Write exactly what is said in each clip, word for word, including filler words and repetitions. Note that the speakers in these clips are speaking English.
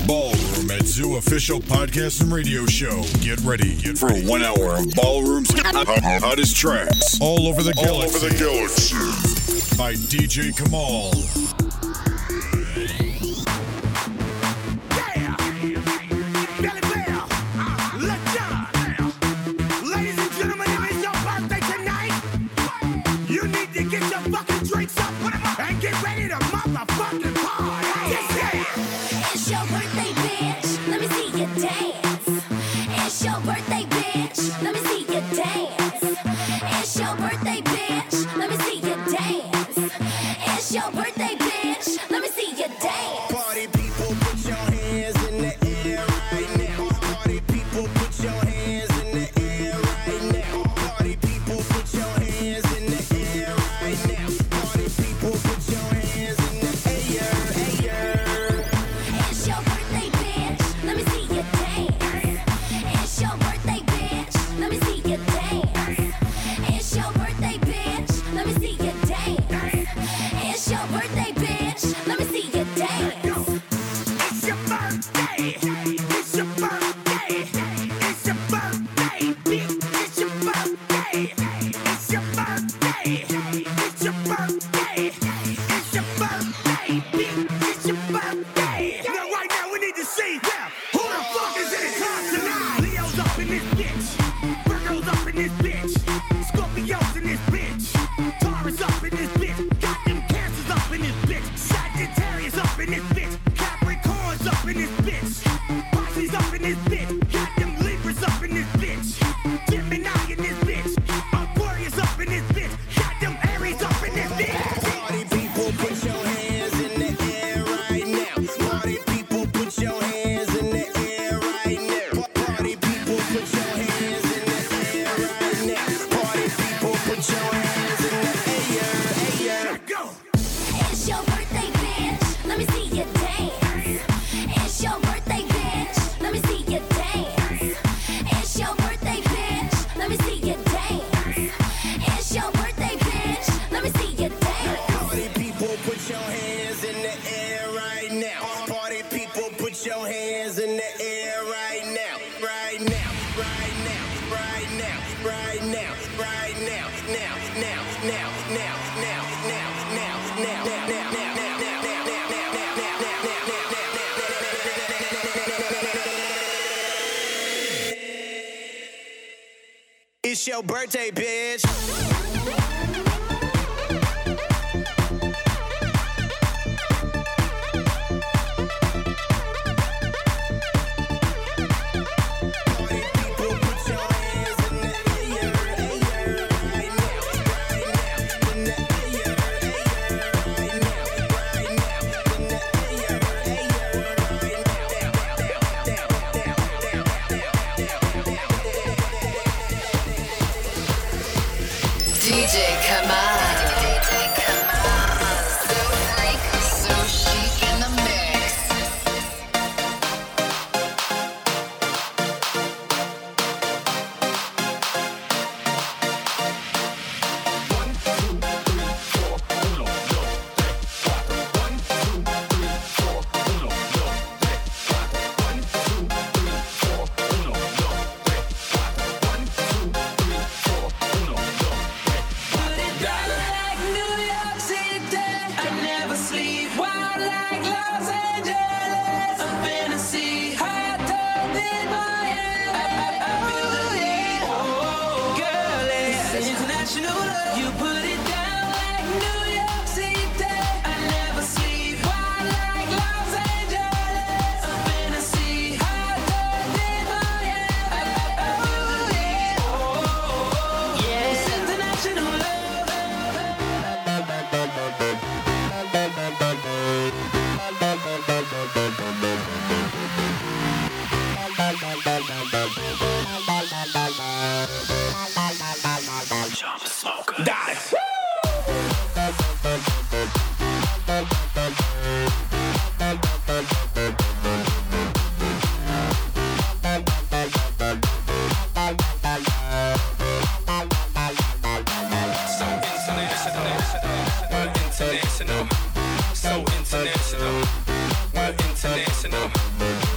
Ballroom at Zoo official podcast and radio show. Get ready Get for ready. one hour of Ballroom's hottest tracks all over the galaxy. All over the galaxy. By D J Kamal. It's your birthday, bitch. D J Kamal. So freak, so chic in the mix. One, two, three, four, uno, dos, tres, cuatro. One, two, three, four, uno, dos, tres, cuatro. One, two, three, four, uno, dos, tres, cuatro. One, two, three, four, uno, dos. international. So international. We're international.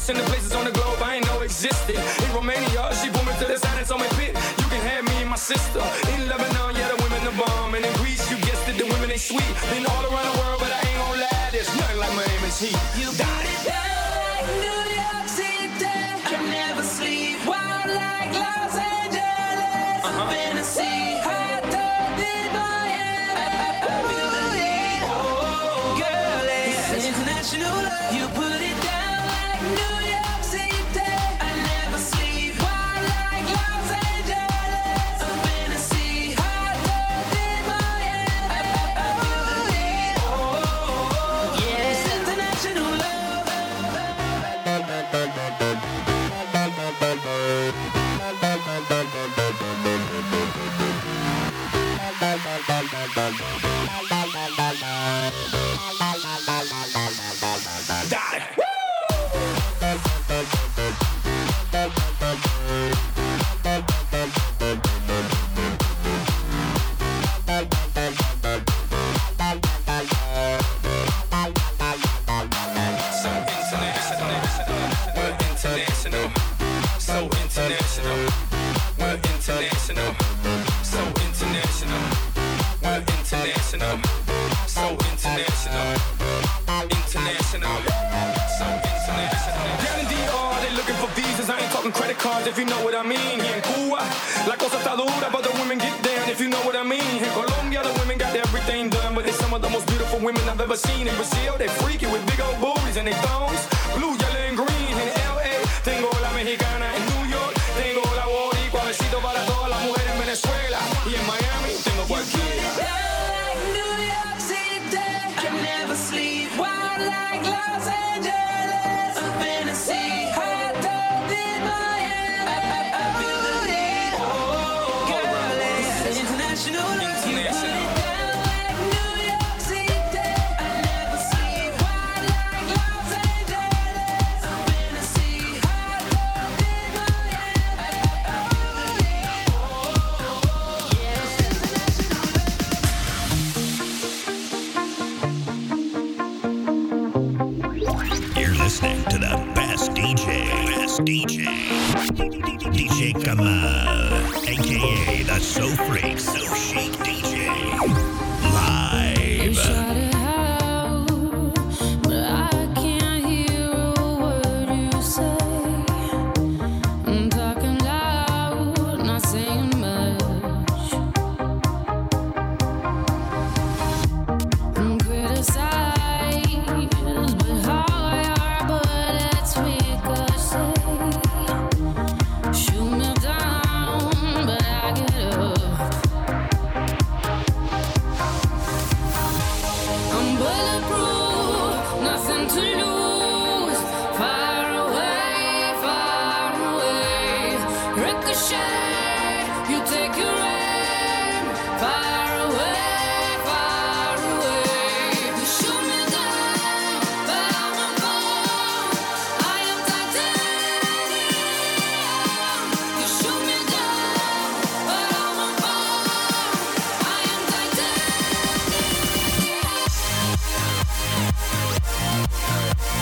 else in the places on the globe I ain't know existed. In Romania, she pulled me to the side and told me, "Pit, you can have me and my sister." In Lebanon, yeah, the women the bomb. And in Greece, you guessed it, the women they sweet. Been all around the world, but I ain't gon' lie, there's nothing like Miami's heat. You got it down like New York City. Can never sleep. Wild like Los Angeles. Uh-huh. Fantasy. Hot dog in Miami. I feel the heat. Oh, girl, it's international love. You put it down like New York City. I never sleep. Wild like Los Angeles. Fantasy. Hot dog in Miami. I feel the heat. Oh, yeah, it's international love. Dale. So international, we're international. So international, we're international. So international, we're international. So international, international. So international. Down in D R, they looking for visas. I ain't talking credit cards, if you know what I mean. Here in Cuba, la cosa está dura, but the women get down, if you know what I mean. In Colombia, the women got everything done, but they're some of the most beautiful women I've ever seen. In Brazil, they freaky with big old booties and they thongs, blue, yellow, and green. In L A, tengo la mexicana. In New York, tengo la boricua. Besito para todas las mujeres en Venezuela. Y en Miami, tengo cualquiera. Down like New York City. Can never sleep. Wild like Los Angeles. Fantasy. Hot dog in Miami. I feel the heat. Oh, girl, it's international love. You put International. it down like New York City. I never sleep. Wild like Los Angeles. Fantasy. Hot dog in Miami. I feel the heat. Oh, yeah, it's international love. You're listening to the best D J. Best D J. D J Kamal, aka the So Freak, So Chic D J. Live. Shout it out, but I can't hear a word you say. I'm talking loud, not saying much. I'm criticized, but how I are, but it's ricochet. Shoot me down, but I get up. I'm bulletproof, nothing to lose. Far away, far away. Ricochet, you take your aim. Far away, far away. You shoot me down, but I won't fall. I am titanium. You shoot me down, but I won't fall. I am titanium.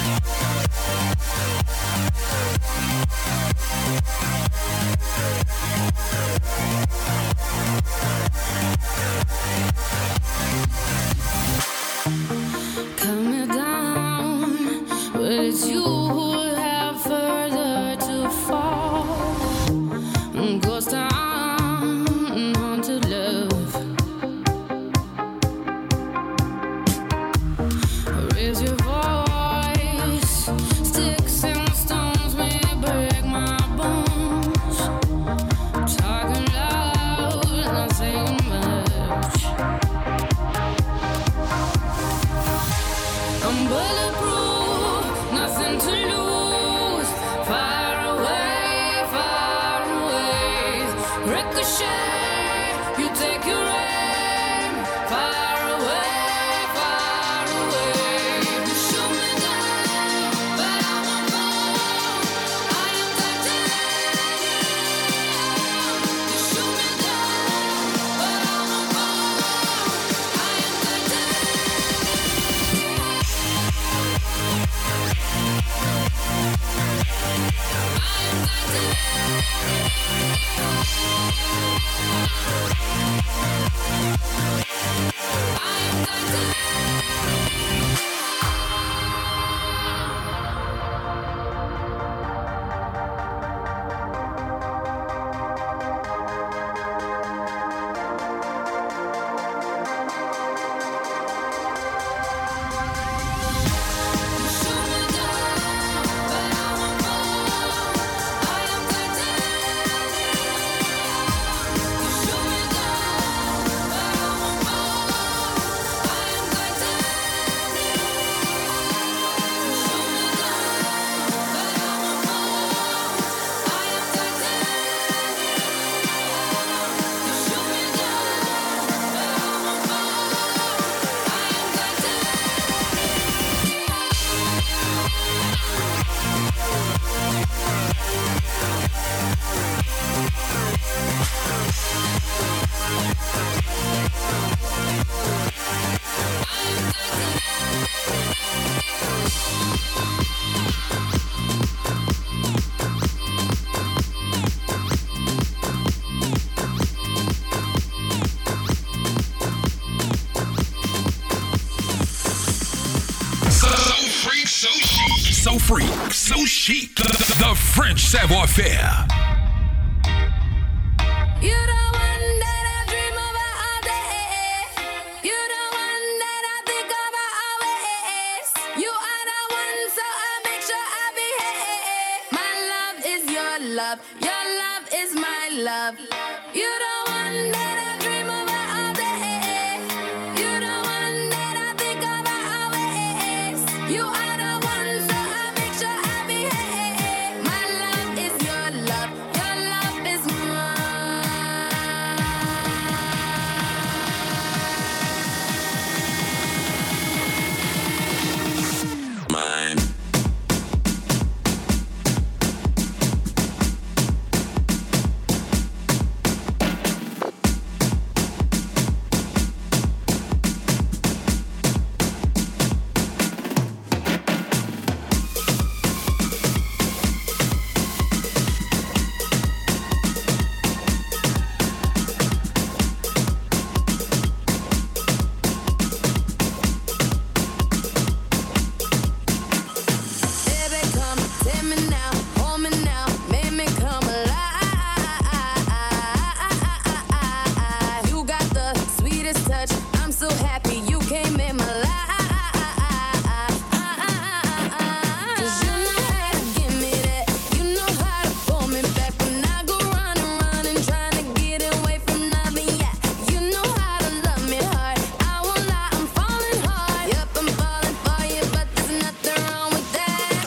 freak, so chic, the, the French savoir-faire. You the one that I dream about all day. You the one that I think about always. You are the one, so I make sure I behave. My love is your love, your love is my love. You the one that I dream about all day. You the one that I think about always. You are the one, so I make sure I behave. My love is your love, your love is mine. Baby, come take me now, hold me now, make me come alive. You got the sweetest touch, I'm so happy you came in my life. 'Cause you know how to give me that, you know how to pull me back when I go running, running, trying to get away from nothing. Yeah, you know how to love me hard. I won't lie, I'm falling hard. Yup, I'm falling for you, but there's nothing wrong with that.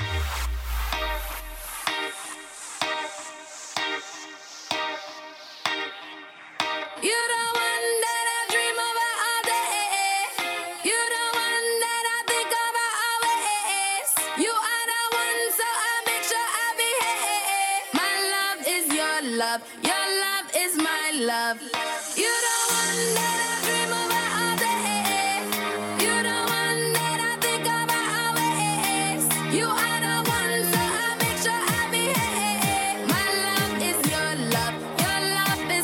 You the one that I dream about all day. You the one that I think about always. You are the one, so I make sure I behave. My love is your love, your love is my love. You the one that I dream about all day. You the one that I think about always. You are the one, so I make sure I behave. My love is your love, your love is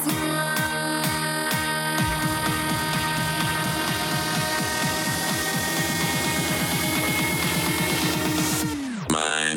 Mine.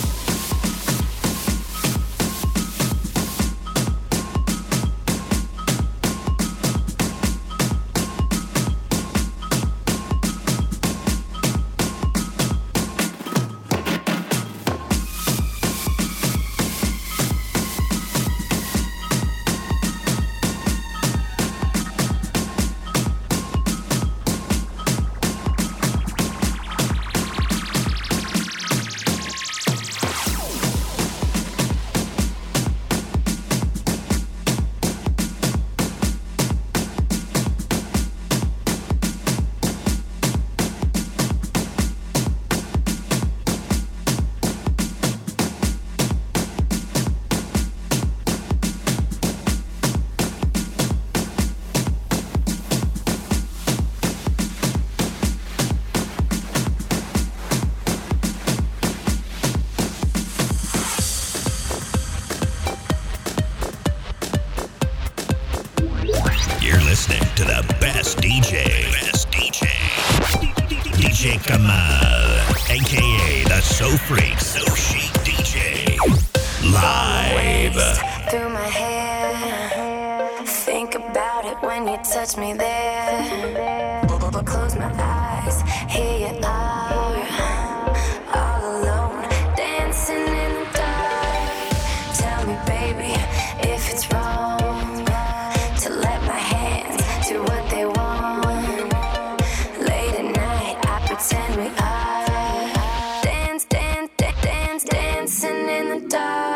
You're listening to the best D J. Best D J. D J Kamal, a k a the So Freak, So Chic D J. Live. through my hair. Think about it when you touch me there. Close my eyes, here you are, all alone, dancing in the dark. Tell me, baby, if it's wrong to let my hands do what they want. Late at night, I pretend we are dance, dance, dance, dance, dancing in the dark.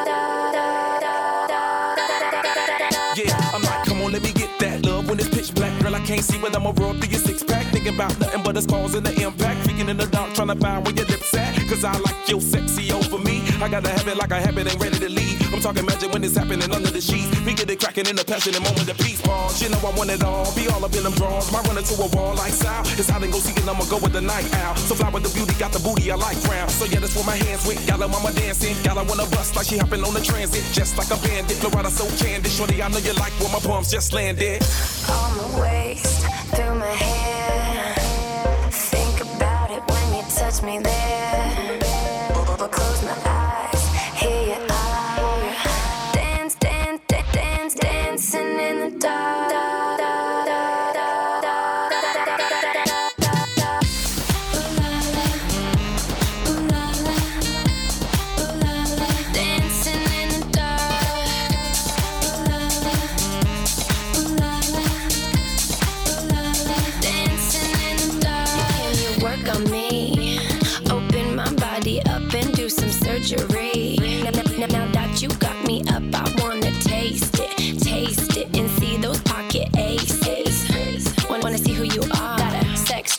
Yeah, I'm like, come on, let me get that love when it's pitch black. Girl, I can't see whether I'm a roll through your six pack. Thinking about nothing but the scars and the impact. Freaking in the dark, trying to find where your lips at. Cause I like your sexy over me. I gotta have it like I have it, ain't ready to leave. I'm talking magic when it's happening under the sheets. We get it cracking in the passionate moment of peace. Pause, you know I want it all. Be all up in them drawers. My running to a wall like style. It's hot and go seek and I'ma go with the night owl. So fly with the beauty, got the booty I like round. So yeah, that's where my hands went. Got her mama dancing. Got her wanna bust like she hopping on the transit. Just like a bandit. Florida so candid. Shorty, I know you like where my palms just landed. On my waist, through my hair. Think about it when you touch me there.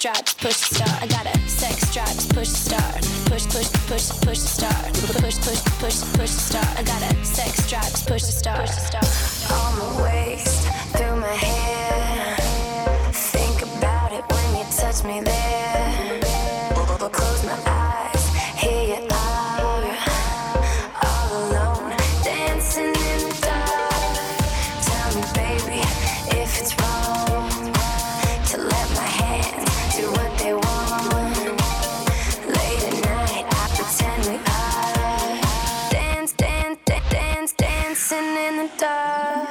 drive, push to start. I got a sex drive, push to start. Push, push, push, push to start. Push, push, push, push to start. I got a sex drive, push to start. Push to start. On my waist, through my hair. Think about it when you touch me there. Close my eyes, here you are, all alone, dancing in the dark. Tell me, baby, if it's wrong to let my hands do what they want. Late at night, I pretend we are. Dance, dance, dance, dance, dancing in the dark.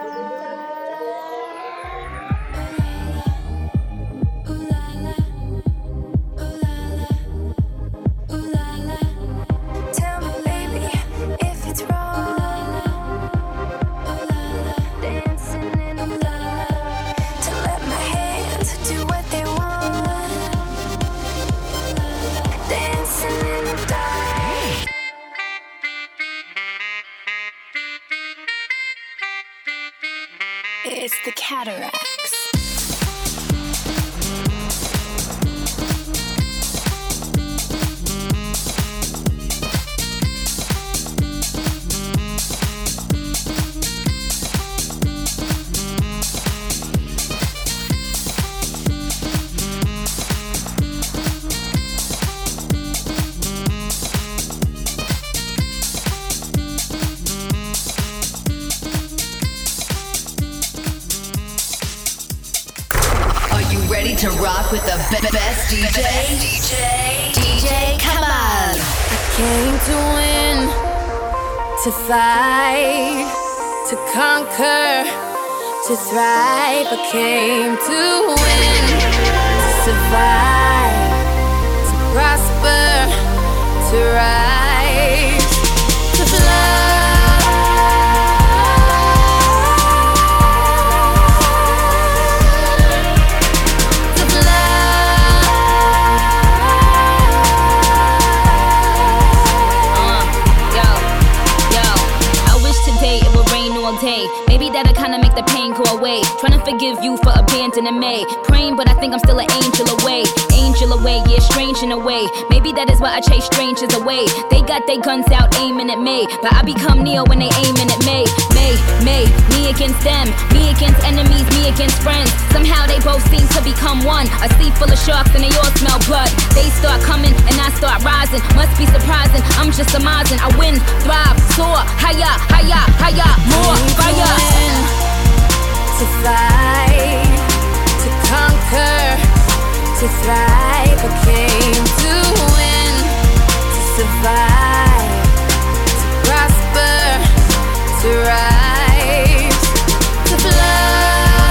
It's the Cataracts. To rock with the be- best D J, D J, D J Kamal. I came to win, to fight, to conquer, to thrive. I came to win, to survive, to prosper, to rise, to fly. Day. Maybe that'll kinda make the pain go away. Trying to forgive you for abandoning me. Praying, but I think I'm still an angel away. Angel away, yeah, strange in a way. Maybe that is why I chase strangers away. They got their guns out aiming at me, but I become Neo when they aiming at me. Me, me, me against them. Me against enemies, me against friends. Somehow they both seem to become one. A sea full of sharks and they all smell blood. They start coming and I start rising. Must be surprising, I'm just surmising. I win, thrive, soar, higher, higher, higher, more fire. To fight, to conquer, to thrive. I came to win, to survive, to prosper, to rise, to fly.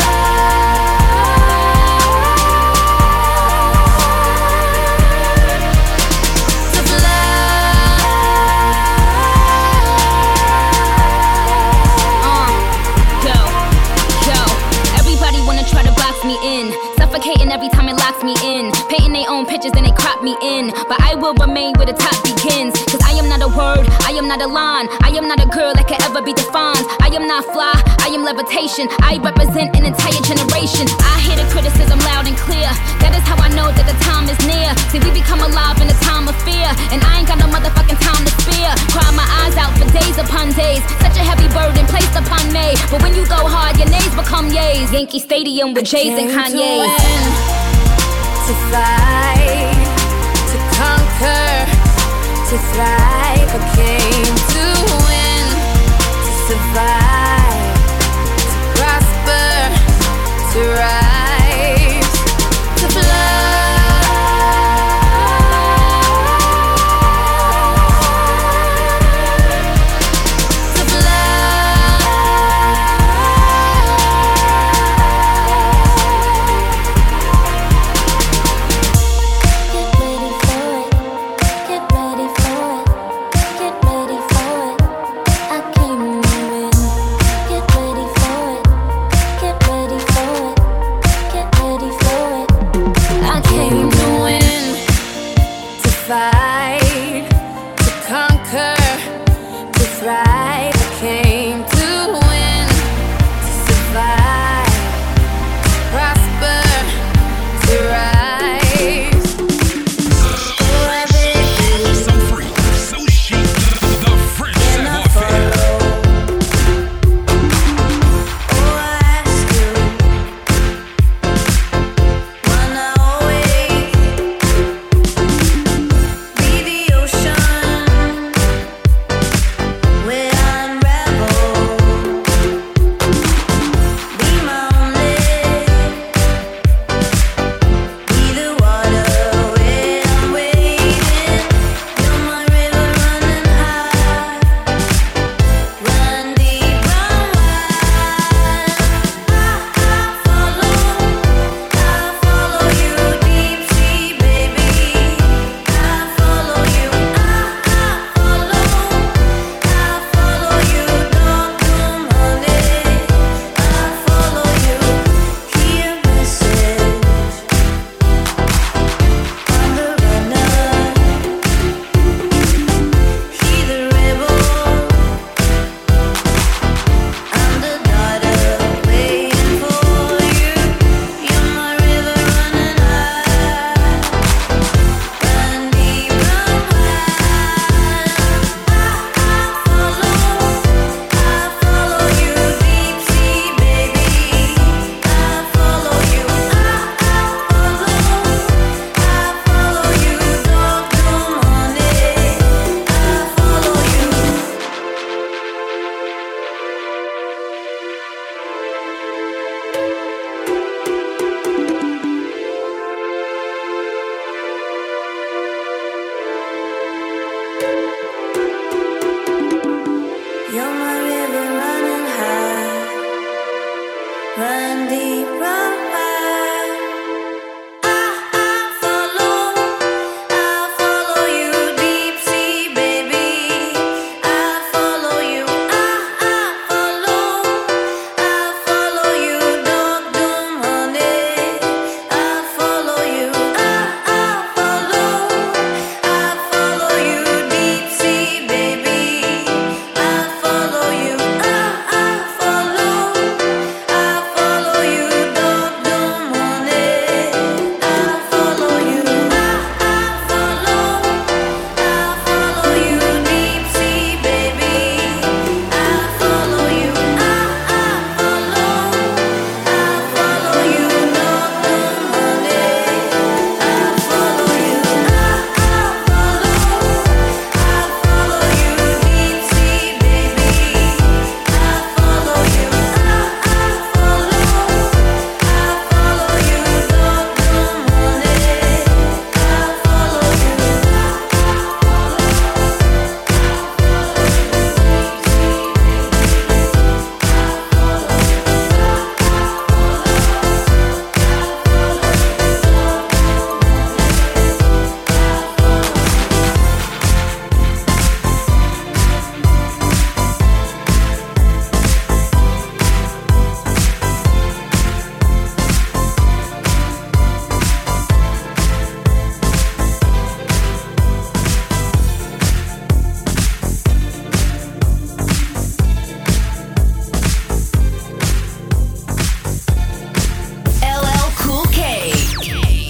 Me in, suffocating every time it locks me in. Painting their own pictures and they crop me in. But I will remain where the top begins. Cause I am not a word, I am not a line. I am not a girl that can ever be defined. I am not fly, I am levitation. I represent an entire generation. I hear the criticism loud and clear. That is how I know that the time is near. See, we become alive in a time of fear. And I ain't got no motherfucking time to spare. Cry my eyes out for days upon days. Such a heavy burden placed upon me. But when you go hard, your nays become yays. Yankee Stadium with Jay's and Kanye's. To win, to fight, to conquer, to thrive. I came to win, to survive, to prosper, to rise, to fly. Get ready for it, get ready for it, get ready for it. I came to win.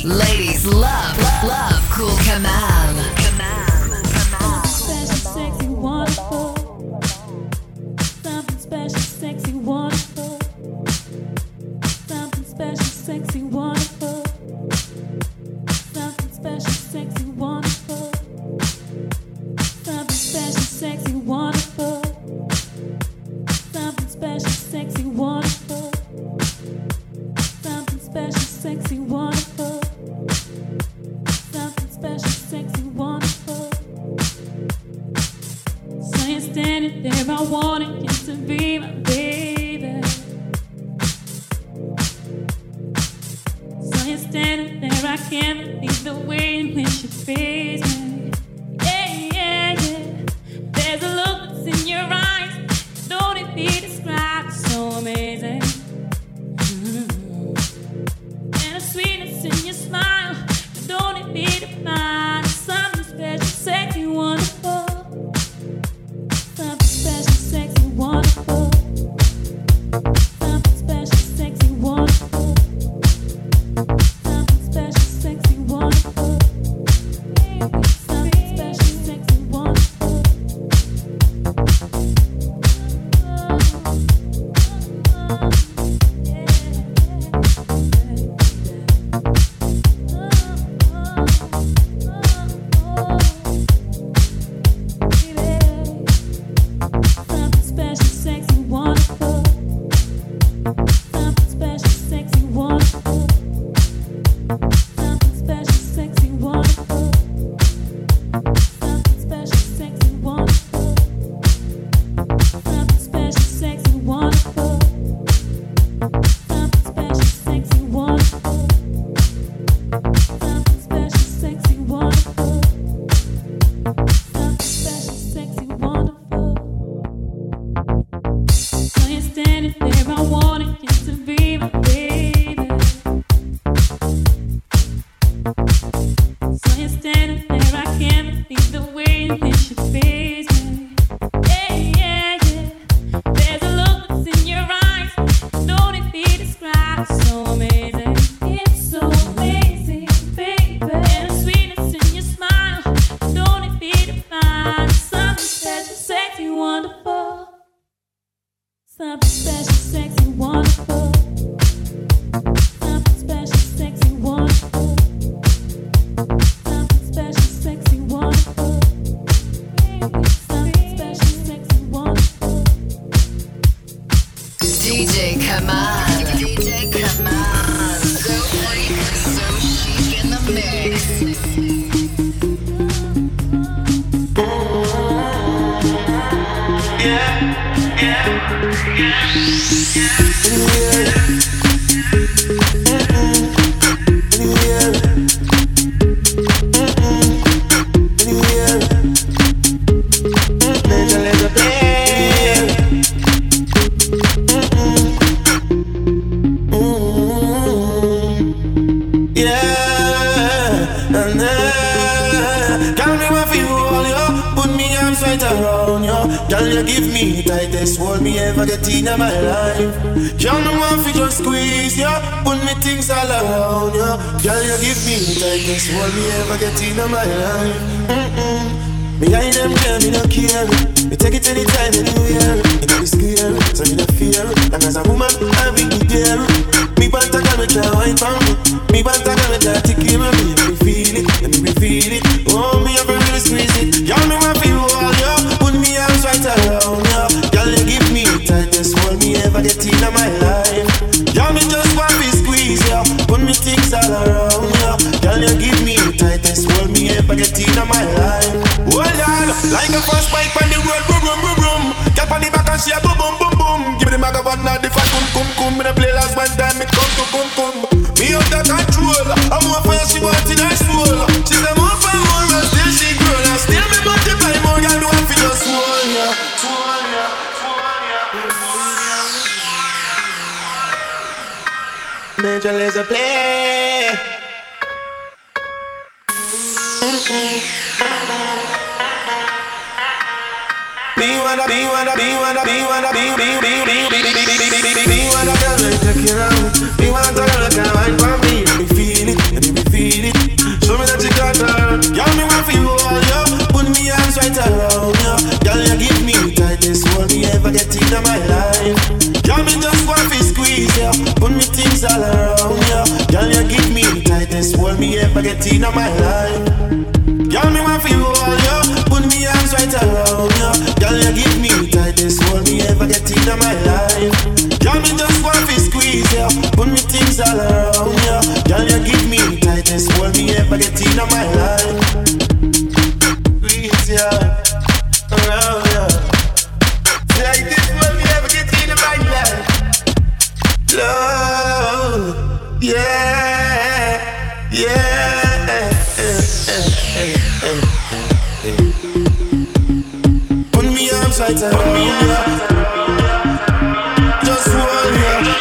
Ladies love, love Cool Kamal. Special, sexy, wonderful. Something special, sexy, wonderful. Something special, sexy, wonderful. Something special, sexy, wonderful. Something special, sexy, wonderful. Something special, sexy, wonderful. Something special, sexy, wonderful. Something special, sexy, wonderful. So you're standing there, I wanted you to be my baby. So you're standing there, I can't believe the way in which you face me. Yeah, yeah, yeah. There's a look that's in your eyes, don't it be described? So amazing. And a sweetness in your smile, don't it be defined? Something special, sexy, wonderful. Something special, sexy, wonderful. Something special, sexy, wonderful. Something special, sexy, wonderful. Something special, sexy, wonderful. Something special, sexy, wonderful. Something special, sexy, wonderful. Something special, sexy, wonderful. Something special, sexy, wonderful. Something special, sexy, wonderful. Something special, sexy, wonderful. Something special, sexy, wonderful. Something special, sexy, wonderful. So you're standing there, I wanted you to be my baby. So you're standing there, I can't believe the way in which you face me. Yeah, yeah, yeah. There's a look that's in your eyes, don't it be described? So amazing, it's so amazing, baby. And a sweetness in your smile, don't it be defined? Something special, sexy, wonderful. Something special, sexy, wonderful. Something special, sexy, wonderful. Something special, sexy, wonderful. Something special, sexy, wonderful. D J Kamal. D J Kamal. So freak, so chic in the mix. Girl, you give me the tightest hold me ever get in my life. Girl, no one fi just squeeze ya, put me things all around ya. Girl, you give me the tightest hold me ever get in my life. Mm-mm. Behind them girl, me no care. Me take it anytime, anywhere. It no be scary, so me no fear. And as a woman, I be there. Me want a girl, me try wine for me. Me want a girl, me try to keep me. Let me feel it, let me feel it. Oh, me have to really squeeze it. Girl, me want feel all ya. Me arms right around ya. Girl, you give me the tightest hold me ever get in my life. Girl, me just want to squeeze ya, put me things all around ya. Girl, you give me the tightest hold me ever get in my life. Hold on, like a first bike on the road, boom boom boom boom. Get on the back and she a boom boom boom boom. Give me the maga one now the fat cum cum cum. Me the play last one time me come to cum cum. Me out of control, I'm more for she want in her soul. She's a more for more and still she grow. And still me multiply more than one for just one, yeah. One, yeah. Major Lazer play. Be wanna, be wanna, be wanna, be wanna, be, be, be, be, be, be, be, be, be, be wanna girl, take you around. Be wanna girl, like a wine for me. Let me feel it, let me feel in my life. Girl, me just want to squeeze ya, put me things all around ya. Girl, you give me the tightest hold me ever get in my life. Girl, me want to hold ya, put me arms right around ya. Girl, you give me the tightest hold me ever get in my life. Girl, me just want to squeeze ya, put me things all around ya. Girl, you give me the tightest hold me ever get in my life. Squeeze ya, around ya. Tightest hold me ever get in my life. Love, yeah, yeah. Put me arms right around ya. Just hold ya.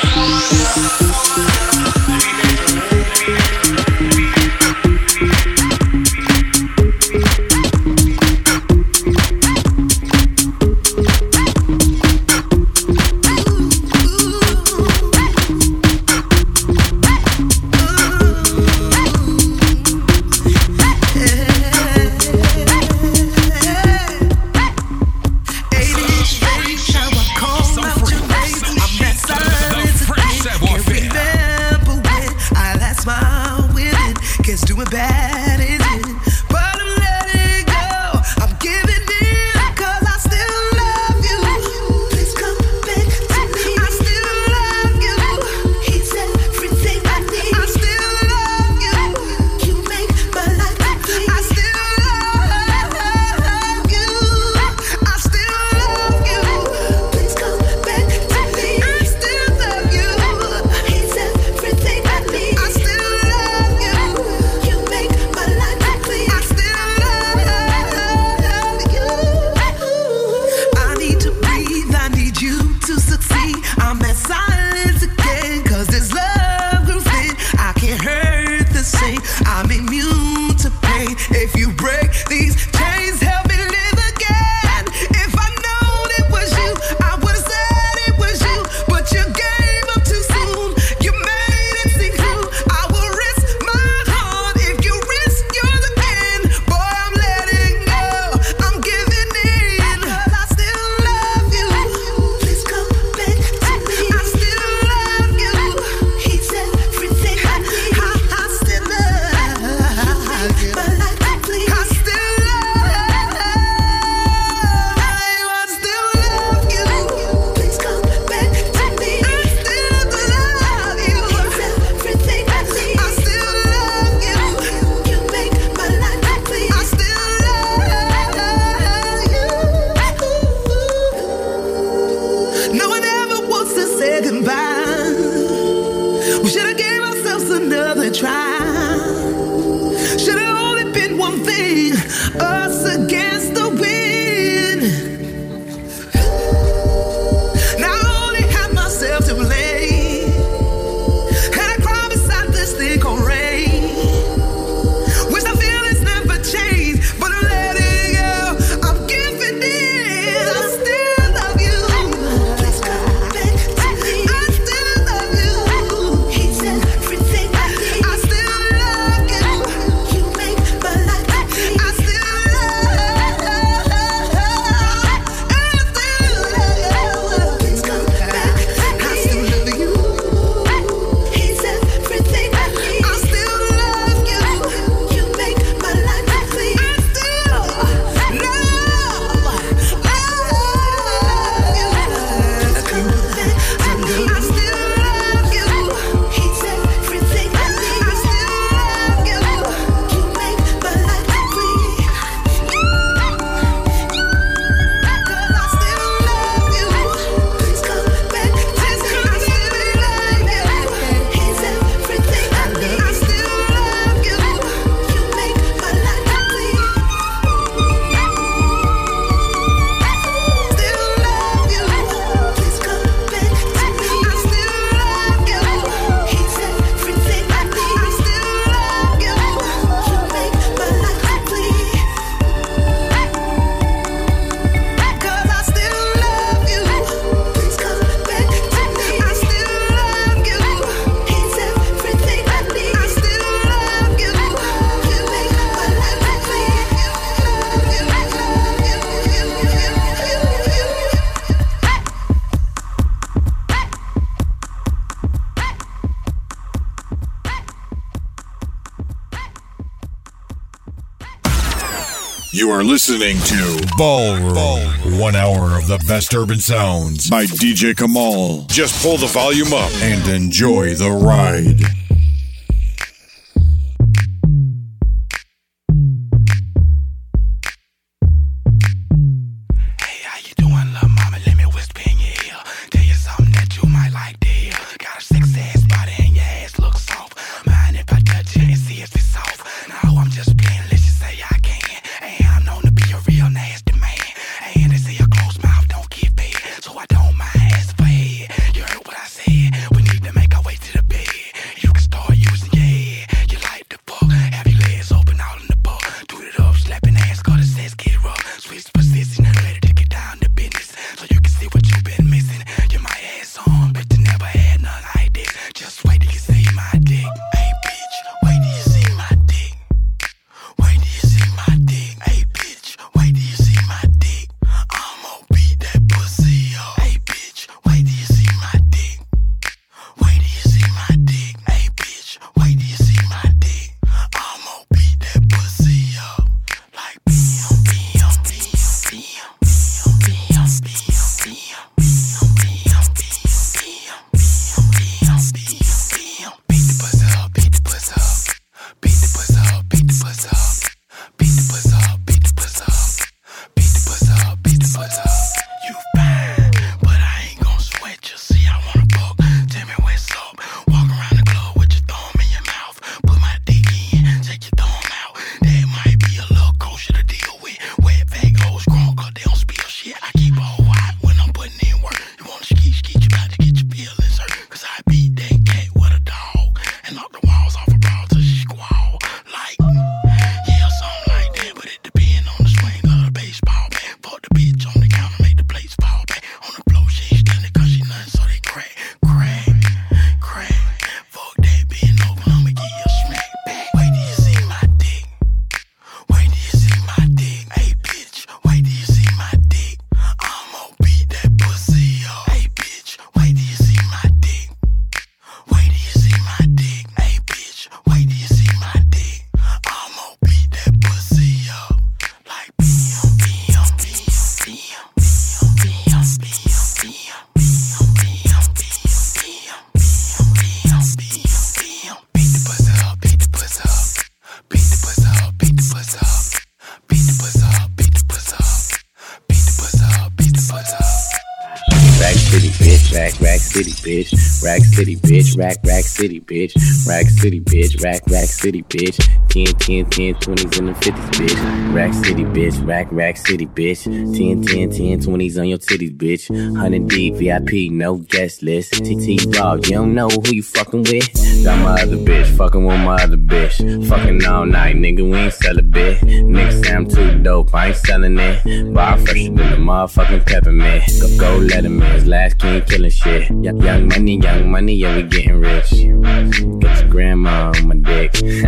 I still You are listening to Ballroom. Ballroom. One hour of the best urban sounds by D J Kamal. Just pull the volume up and enjoy the ride. Rack City, bitch, rack, rack city, bitch, rack city, bitch, rack, rack city, bitch, ten, ten, ten, twenties and the fifties, bitch, rack city, bitch, rack, rack city, bitch, ten, ten, ten, twenties on your titties, bitch, one hundred D, V I P, no guest list, T T Dog, you don't know who you fucking with, got my other bitch, fucking with my other bitch, fucking all night, nigga, we ain't sell a bit, nigga say I'm too dope, I ain't selling it, bar fresher than the motherfucking peppermint, go, go let him in, his last king killing shit, young money, young money, yeah, we getting rich, got your grandma on my dick,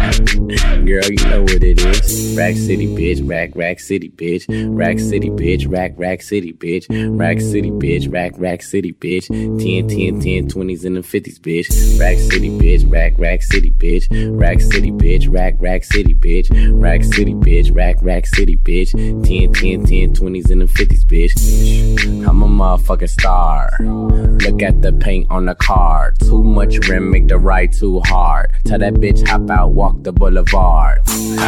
girl, you know what it is, rack city, bitch, rack, rack city, bitch, rack city, bitch, rack, rack city, bitch, rack city, bitch, rack, rack city, bitch, ten, ten, ten, twenties and the fifties, bitch, rack city, bitch, rack, rack city, bitch, rack city, bitch, rack, rack city, bitch, rack city, bitch, rack, rack city, bitch, ten, ten, ten, twenties and the fifties, bitch, I'm a motherfucking star, look at the paint on the car, too much rim make the ride too hard, tell that bitch hop out, walk the boulevard,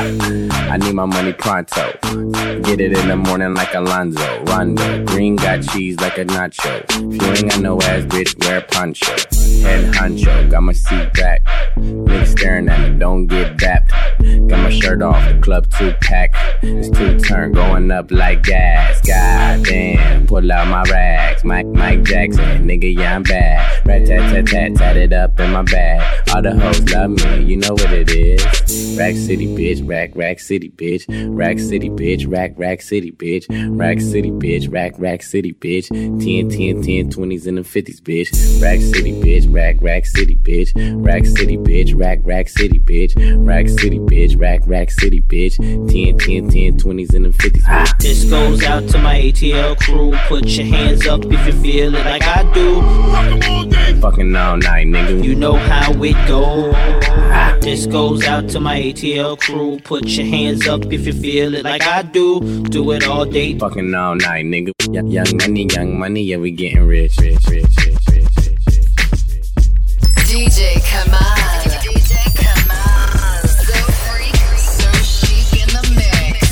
I need my money pronto, get it in the morning like Alonzo, Rondo, green got cheese like a nacho, if you ain't got no ass bitch, wear a poncho, head honcho, got my seat back, niggas staring at me, don't get dapped, got my shirt off, the club two pack, it's two turn going up like gas, god damn, pull out my rags, Mike, Mike Jackson, nigga yeah I'm bad, rat tat tat tat, tat it up in my bag, all the hoes love me, you know what it is, rack city bitch, rack rack city bitch, rack city bitch, rack rack city bitch, rack city bitch, rack rack city bitch, ten, ten, ten, twenties and the fifties bitch, rack city bitch, rack rack city bitch, rack city bitch, rack rack city bitch, rack city bitch, rack rack rack city, bitch. ten, ten, ten, twenties and the fifties. Ah. This goes out to my A T L crew. Put your hands up if you feel it like I do. Fucking all night, nigga. You know how it goes. Ah. This goes out to my A T L crew. Put your hands up if you feel it like I do. Do it all day. Fucking all night, nigga. Y- young money, young money, yeah, we getting rich, rich, rich, rich, rich, rich, rich, rich. D J Kamal. D J Kamal. So freak, so chic in the mix.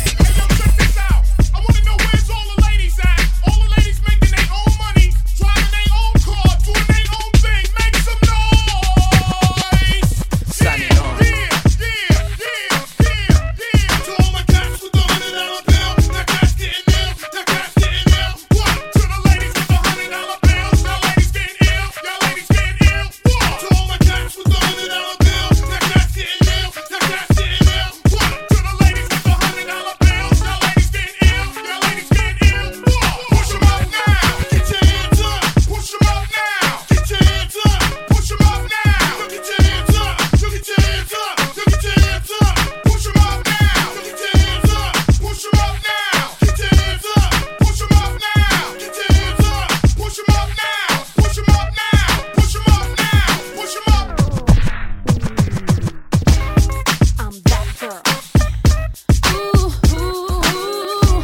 I wanna know where's all the ladies at? All the ladies making their own money, driving their own car, doing their own thing. Make some noise. Sign it on. Yeah, yeah, yeah, yeah, yeah. To all my cats with the hundred dollar bill, that cat's getting ill, that cat's getting ill. What? To the ladies with the hundred dollar bills, y'all ladies getting ill, y'all ladies getting ill. What? To all my cats with the hundred dollar bill, that cat's getting ill, that cat's getting ill. What? To the ladies with the hundred dollar bills, y'all ladies getting ill, y'all ladies getting ill. What? Push 'em up now, get your hands up. Push 'em up now, get your hands up. Push 'em up now, look at your hands up. Look at your hands up, look at your hands up. Push 'em up now, look at your hands up. Push 'em up now, get your hands up. Push 'em up now, get your hands up. Push 'em up now, push 'em up now, push 'em up now, push 'em up. I'm that girl. Ooh, ooh, ooh.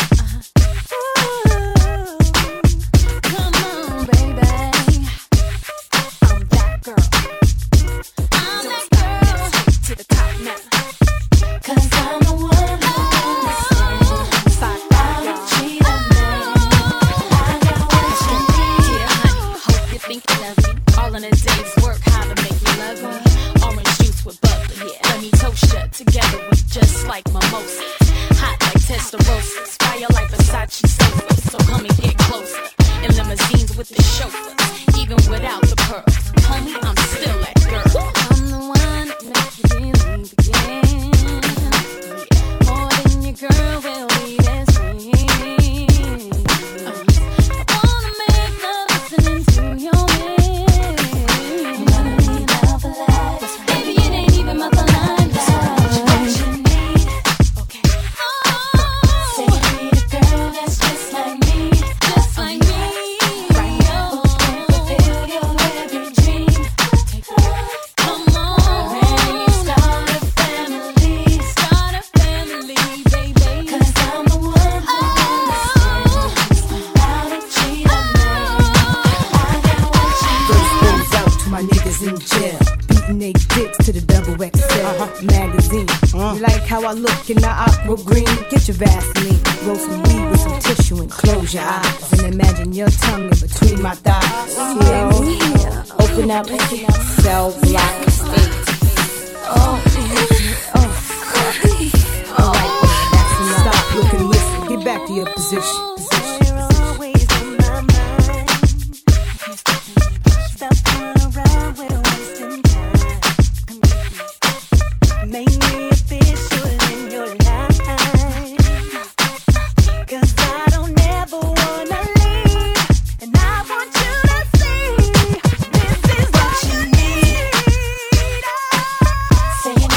Come on, baby. I'm that girl. I'm that girl. To the top now. 'Cause I'm the one who understands. Side by y'all. Cheat on me. I got what you need. Yeah, honey. Hope you think you love me. All in a day's work, how to make you love me. Orange juice with bubbly, yeah. Let me toast ya. Together we just like mimosas. Hot like testarossas. Fire like Versace sofas. So come and get closer. In limousines with the chauffeurs. Even without the pearls. Homie, I'm still that girl. I'm the one that makes you believe again. Yeah. More than your girl will be best friend. Uh, I wanna make love listening to your man. You wanna be down for life. Baby, it ain't even my line. That's what you need. Okay. Say you need a girl that's just like me. Just like me. Right now. Who can fulfill your every dream. Come on. Ready to start a family. Start a family, baby. 'Cause I'm the one who understands how to cheat on me. I got what you First goes out to my niggas in jail. Beating they dicks to the double X L magazine. You like how I look in the aqua green? Get your Vaseline. Roll some weed with some tissue and close your eyes. And imagine your tongue in between my thighs. Yeah. Open up, cell block eight. Oh, oh. Alright, that's enough. Stop, look and listen. Get back to your position. position. always on my mind. Stop playing around, we're wasting time. Make me official in your life. 'Cause I don't ever wanna leave. And I want you to see this is what you need. Say you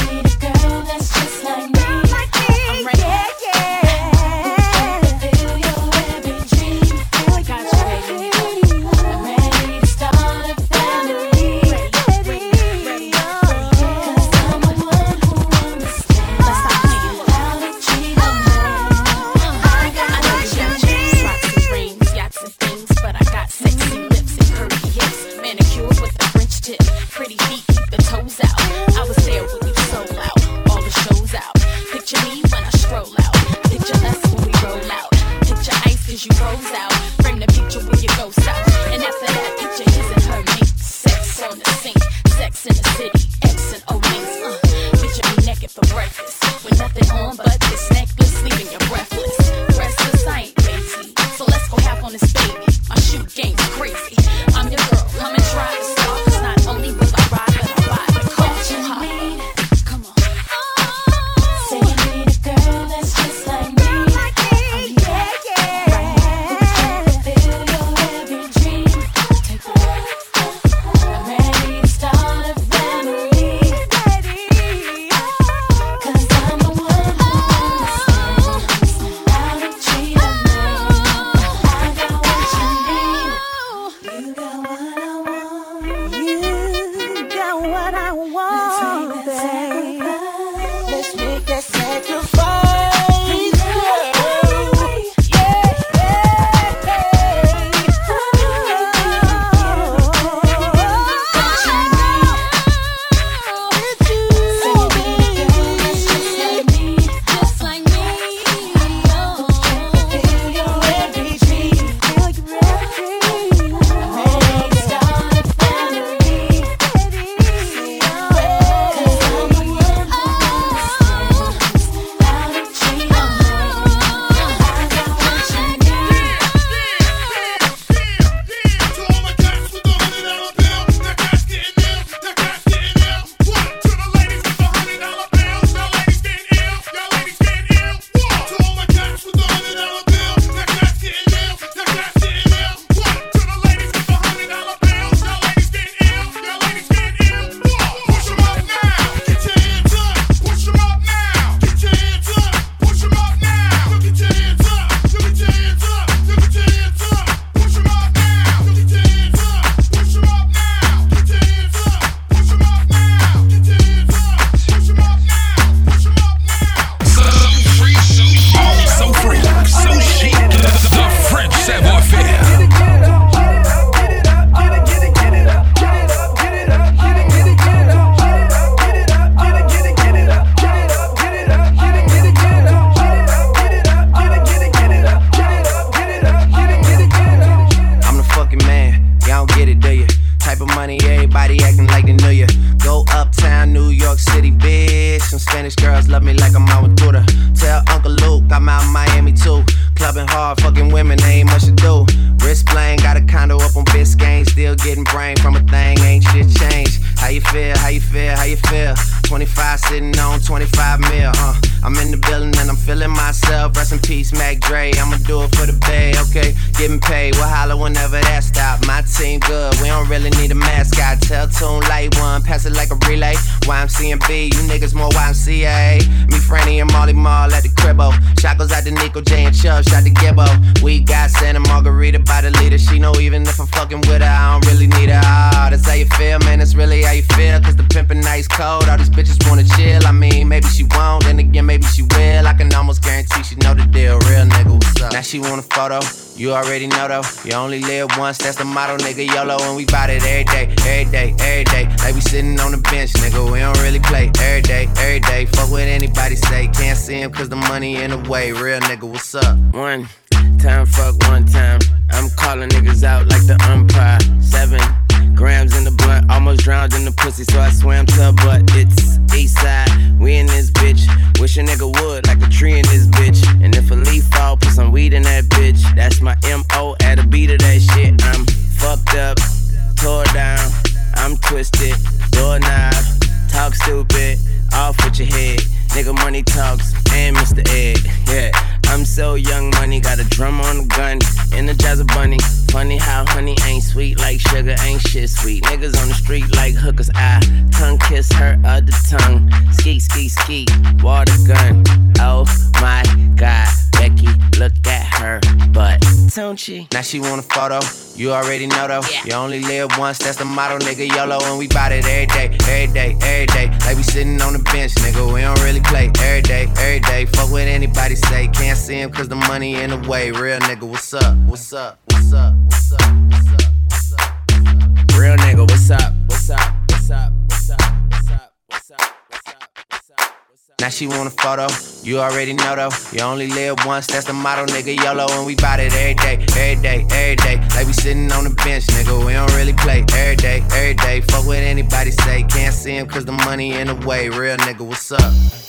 girls love me like I'm out with Buddha. Tell Uncle Luke I'm out in Miami too. Clubbing hard, fucking women, ain't much to do. Wrist playing, got a condo up on Biscayne. Still getting brain from a thing, ain't shit changed. How you feel, how you feel, how you feel? twenty-five sitting on twenty-five mil, uh. I'm in the building and I'm feeling myself. Rest in peace, Mac Dre, I'ma do it for the bay, okay? Getting paid, we'll holler whenever that stop. My team good, we don't really need a mascot. Tell Tune Light One, pass it like a relay. Y M C and B, you niggas more Y M C A. Me, Franny, and Molly Mall at the cribbo. Shot goes out to Nico J and Chubb, shot to Gibbo. We got Santa Margarita by the leader. She know even if I'm fucking with her, I don't really need her. Ah, that's how you feel, man, that's really how you feel. Cause the pimpin' nice cold, all these bitches wanna chill. I mean, maybe she won't, then again, maybe she will. I can almost guarantee she know the deal. Real nigga, what's up? Now she want a photo, you already know though. You only live once, that's the motto, nigga. YOLO, and we bout it every day, every day, every day. Like we sitting on the bench, nigga, we don't really play. Every day, every day, fuck what anybody say. Can't see him cause the money in the way. Real nigga, what's up? One time, fuck one time. I'm calling niggas out like the umpire. Seven grams in the blunt, almost drowned in the pussy, so I swam to her butt. It's east side, we in this bitch. Wish a nigga would, like a tree in this bitch. And if a leaf fall, put some weed in that bitch. That's my M O at a beat of that shit. I'm fucked up, tore down, I'm twisted, doorknob, talk stupid, off with your head. Nigga money talks, and Mister Ed, yeah. I'm so young money, got a drum on the gun, Energizer bunny. Funny how honey ain't sweet like sugar, ain't shit sweet. Niggas on the street like hookers, I tongue kiss her other tongue. Ski, ski, ski, water gun. Oh my God, Becky, look at her butt, don't she? Now she want a photo, you already know though. Yeah. You only live once, that's the motto, nigga. YOLO, and we bout it every day, every day, every day. Like we sitting on the bench, nigga, we don't really play. Every day, every day, fuck what anybody say. Can't see him cause the money in the way. Real nigga, what's up, what's up, what's up, what's up, what's up, what's up, what's up? Real nigga, what's up, what's up, what's up, what's up, what's up, what's up, what's up, what's up, what's up? Now she want a photo, you already know though. You only live once, that's the motto, nigga. YOLO, and we bout it every day, every day, every day. Like we sitting on the bench, nigga, we don't really play. Every day, every day, fuck what anybody say. Can't see him cause the money in the way. Real nigga, what's up?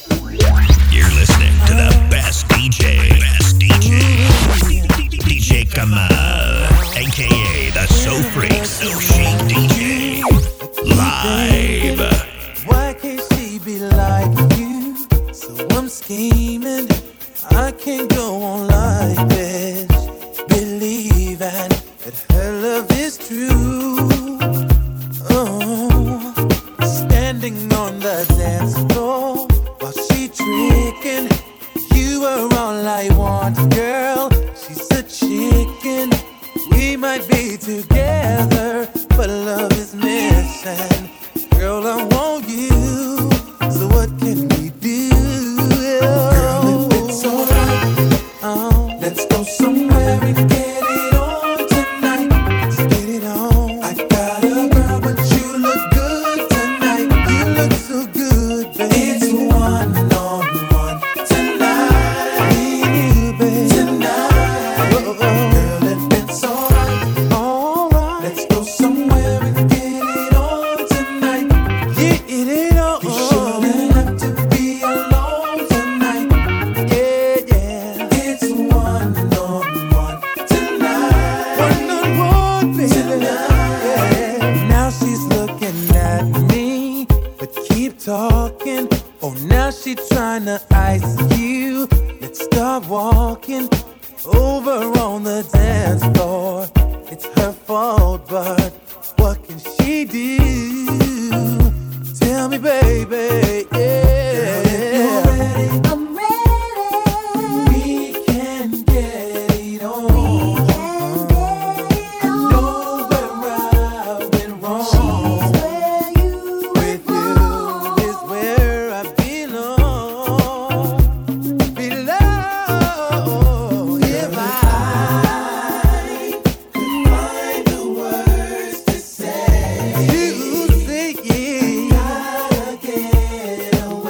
You're listening to the best D J, best D J, D J Kamal, aka the So Freak, So Chic D J, live. Why can't she be like you? So I'm scheming, I can't go on like this. Believing that her love is true. Oh, standing on the dance floor while she tricking. You are all I want, girl. She's a chicken. We might be together, but love is missing. Girl, I want you. So what can we do? Girl, if it's alright, oh, let's go somewhere and get it on tonight. Let's get it on. I got a girl, but you look good tonight. You look so good, baby. It's one on one tonight. Me and you, baby. Tonight. Oh, oh. Girl, if it's alright, alright, let's go somewhere and get it on tonight. Get it on. You shouldn't have to be alone tonight. Yeah, yeah. It's one on one tonight. One on one, baby. Tonight. Yeah. Now she's looking at me, but keep talking. Oh, now she tryna ice you. Let's start walking over on the dance floor. It's her fault, but what can she do? Tell me, baby, yeah. Girl, if you're ready, I'm ready. We can get it on. We can get it on. I know where I went wrong. She's where you with you is where I belong. Belong. If I could find the words to say, you say yeah. Gotta get away.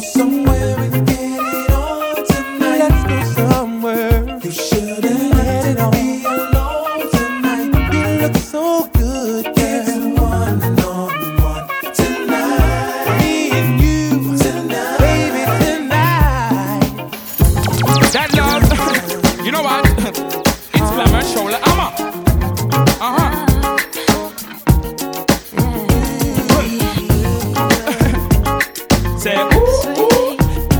somewhere and get it on tonight. Let's go somewhere. You shouldn't let it be alone tonight. You look so good, girl. It's a one and only one tonight. Me and you tonight, baby, tonight. That love, you know what? It's glamour, shoulder, armor. Uh huh. Say ooh, ooh.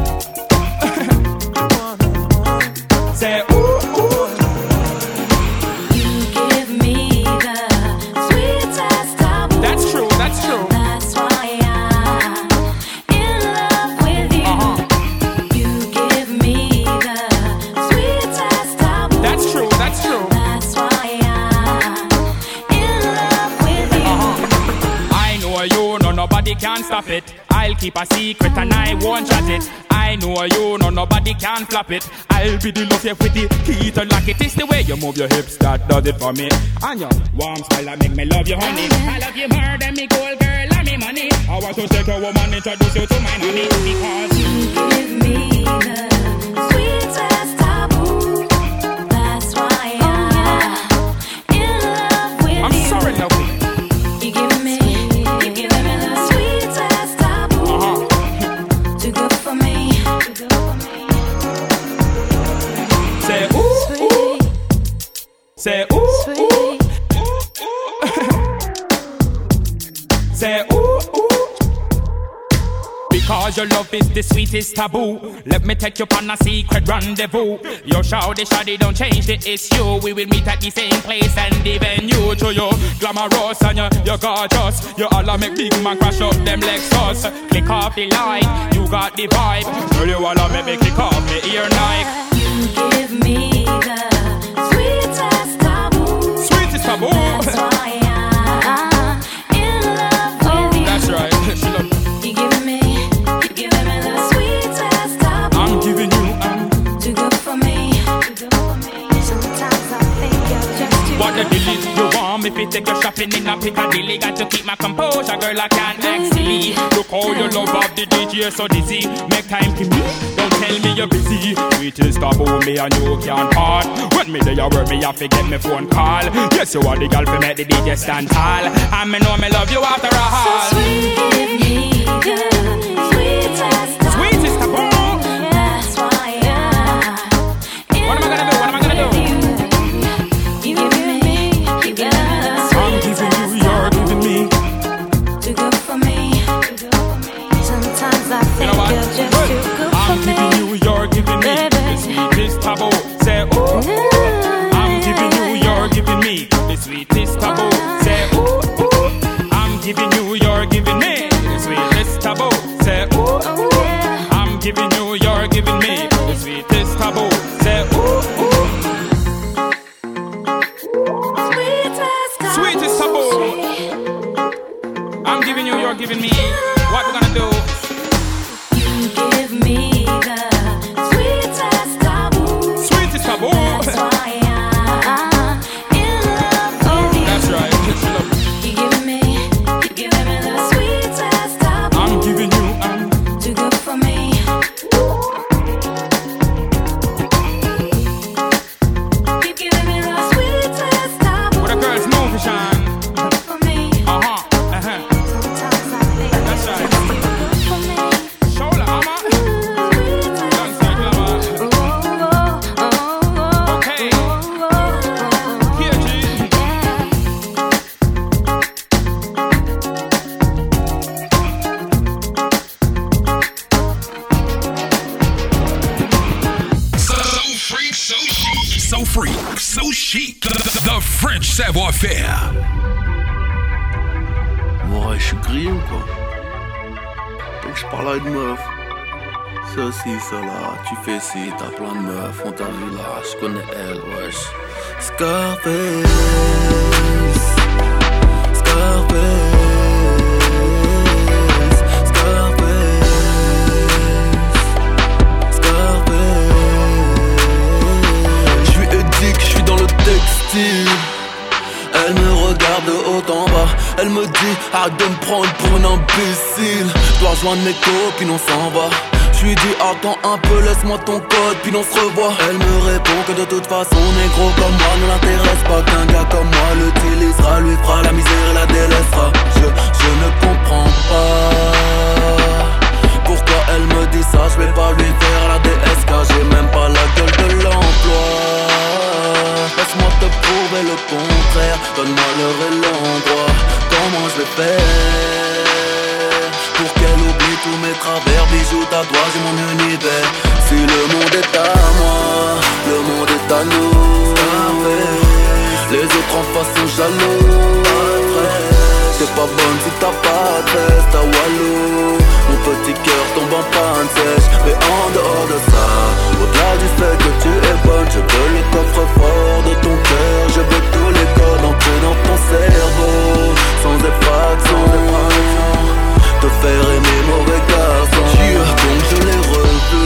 Say ooh, ooh. You give me the sweetest taboo. That's true, that's true. That's why I'm in love with you. Uh-huh. You give me the sweetest taboo. That's true, that's true. That's why I'm in love with you. Uh-huh. I know you, no nobody can stop it. I'll keep a secret and I won't shut it. I know you, no nobody can flop it. I'll be the love you with the key to lock it. It's the way you move your hips that does it for me. And your warm smile that make me love you, honey. I love you more than me gold girl and me money. I want to take a woman, introduce you to my honey. Because you give me the sweetest taboo. That's why I'm in love with I'm you. sorry, lovely. You give me, you give me the sweetest taboo. Uh-huh. Too good for me. Say ooh, ooh. Say ooh, ooh. Say ooh, ooh. Because your love is the sweetest taboo. Let me take you on a secret rendezvous. Your shawty shawty don't change it, it's you. We will meet at the same place and even you. To you, glamorous and you, you're gorgeous. You all make big man crash up them Lexus. Click off the light, you got the vibe. Girl, you all make me click off me ear like. You give me the sweetest taboo. Sweetest taboo. That's why I'm in love with you. That's right. She love. You give me, you give me the sweetest taboo. I'm giving you, I'm too good for me. Sometimes I think you're just too what the good deal for is me. you want me fi take you shopping in a Piccadilly. Got to keep my composure, girl, I can't act silly. Look how you love of the D J so dizzy. Make time to me, don't tell me you're busy. Sweetest taboo, me and you can't part. When me there you work, me have to get me phone call. Yes, you are the girl fi make the D J stand tall. And me know me love you after a haul. So sweet, give me the sweetest taboo. Sweetest taboo. That's why I'm in What am I gonna do? What am I gonna do? love with you. You give me, you give me the I'm giving you, you're giving me. too good for me. Sometimes I You think know what? you're just Good. too good I'm for giving me. you, you're giving me. The sweetest taboo. Say ooh. I'm giving you, you're giving me. The sweetest taboo. Say ooh, ooh. I'm giving you, you're giving me. The sweetest taboo. Say ooh, ooh. I'm giving you, you're giving me. The sweetest taboo. Say ooh, ooh. Sweetest taboo. I'm giving you, you're giving me. What we gonna do? You give me the sweetest taboo. Sweetest taboo. That's why I'm in love with you. That's right. You give me, you give me the sweetest taboo. I'm giving you, I'm too good for me. You give me the sweetest taboo. what a girl's movie, Sean. For me. Uh huh. Uh huh. Sometimes I think That's you're right. just too good for me. Shoulder, armor. Alongside glamour. Okay. Here, G. So freak, so chic. So freak, so chic. The French savoir-faire. Ouais, je suis grillé ou quoi? Donc je parle à une meuf. Ceci, cela, tu fais ci, t'as plein de meufs, on t'a vu là, je connais elle, wesh. Scarface, Scarface, Scarface, Scarface. Je suis édique, je suis dans le textile. Elle me regarde de haut en bas. Elle me dit arrête de me prendre pour une imbécile. Je dois rejoindre mes copines, on s'en va. J'lui dis attends un peu, laisse-moi ton code, puis on se revoit. Elle me répond que de toute façon, négro comme moi ne l'intéresse pas. Qu'un gars comme moi l'utilisera, lui fera la misère et la délaissera. Je, je ne comprends pas pourquoi elle me dit ça. Je vais pas lui faire la D S K, j'ai même pas la gueule de l'emploi. Laisse-moi te prouver le contraire, donne-moi l'heure et l'endroit. Comment je vais faire pour qu'elle oublie tous mes travers, bijoux, tatouages et mon univers. Si le monde est à moi, le monde est à nous. Les autres en face sont jaloux. T'es pas bonne si t'as pas de test à Walou. Mon petit cœur tombe en panne sèche. Mais en dehors de ça, au-delà du fait que tu es bonne, je veux le coffre-fort de ton cœur. Je veux tous les codes entrer dans ton cerveau, sans effraction, te faire aimer mauvais garçon. Donc je l'ai revu.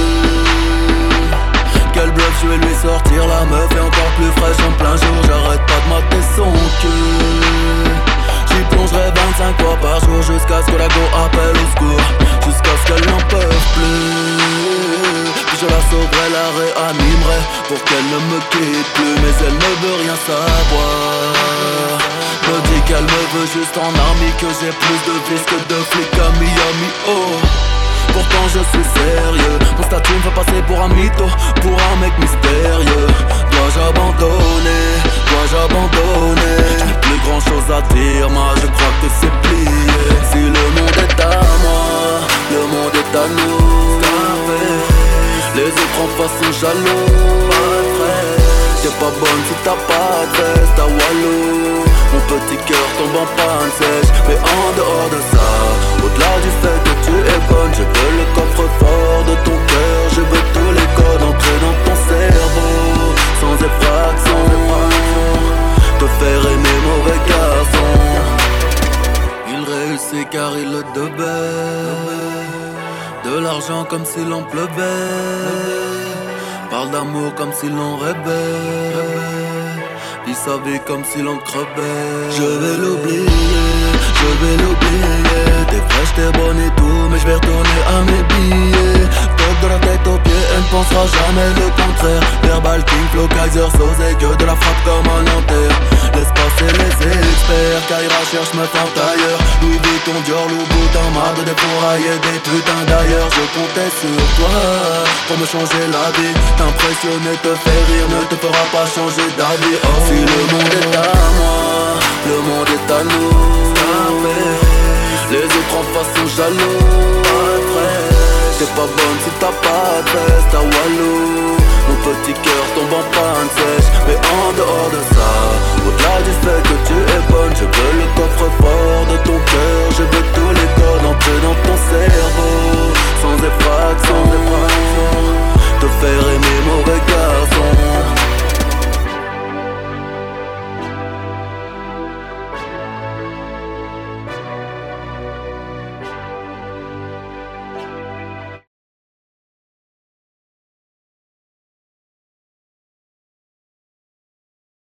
Quel bluff, je vais lui sortir la meuf est encore plus fraîche en plein jour. J'arrête pas de mater son cul. J'y plongerai vingt-cinq fois par jour jusqu'à ce que la go appelle au secours, jusqu'à ce qu'elle n'en peut plus. Puis je la sauverai, la réanimerai pour qu'elle ne me quitte plus. Mais elle ne veut rien savoir. Me dit qu'elle me veut juste en ami, que j'ai plus de vis que de flics à Miami. Oh, pourtant je suis sérieux. Mon statut me fait passer pour un mytho, pour un mec mystérieux. Dois-je abandonner, dois-je abandonner? Je n'ai plus grand chose à dire, moi je crois que c'est plié. Si le monde est à moi, le monde est à nous. Les autres en face sont jaloux. T'es pas bonne si t'as pas de veste à Walou. Mon petit cœur tombe en panne sèche. Mais en dehors de ça, au-delà du fait que tu es bonne, je veux le coffre-fort de ton cœur. Je veux tous les codes entrer dans ton cerveau, sans effraction, te faire aimer mauvais garçon. Il réussit car il le devait. De l'argent comme s'il en pleuvait. Parle d'amour comme s'il en rêvait. Vit sa vie comme s'il en crevait. Je vais l'oublier, je vais l'oublier. T'es fraîche, t'es bonne et tout, mais je vais retourner à mes billets. Top de la tête aux pieds, elle ne pensera jamais le contraire. Verbal King, Flow, Kaiser, Sosé, que de la frappe comme un Nanterre. Laisse passer les experts, Kaira cherche me fente ailleurs. Louis Vuitton, Dior, Louboutin, marre de défourailler des putains d'ailleurs. Je comptais sur toi pour me changer la vie. T'impressionner, te faire rire, ne te fera pas changer d'avis. Oh. Si le monde est à moi, le monde est à nous. Les autres en face sont jaloux. T'es pas bonne si t'as pas de veste à Walou. Mon petit cœur tombe en panne sèche. Mais en dehors de ça, au-delà du fait que tu es bonne, je veux le coffre-fort de ton cœur. Je veux tous les codes entrer dans ton cerveau, sans effraction.